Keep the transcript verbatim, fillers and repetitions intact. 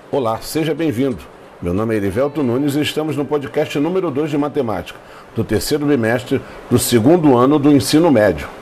Olá, seja bem-vindo. Meu nome é Erivelto Nunes e estamos no podcast número dois de matemática, do terceiro bimestre do segundo ano do ensino médio.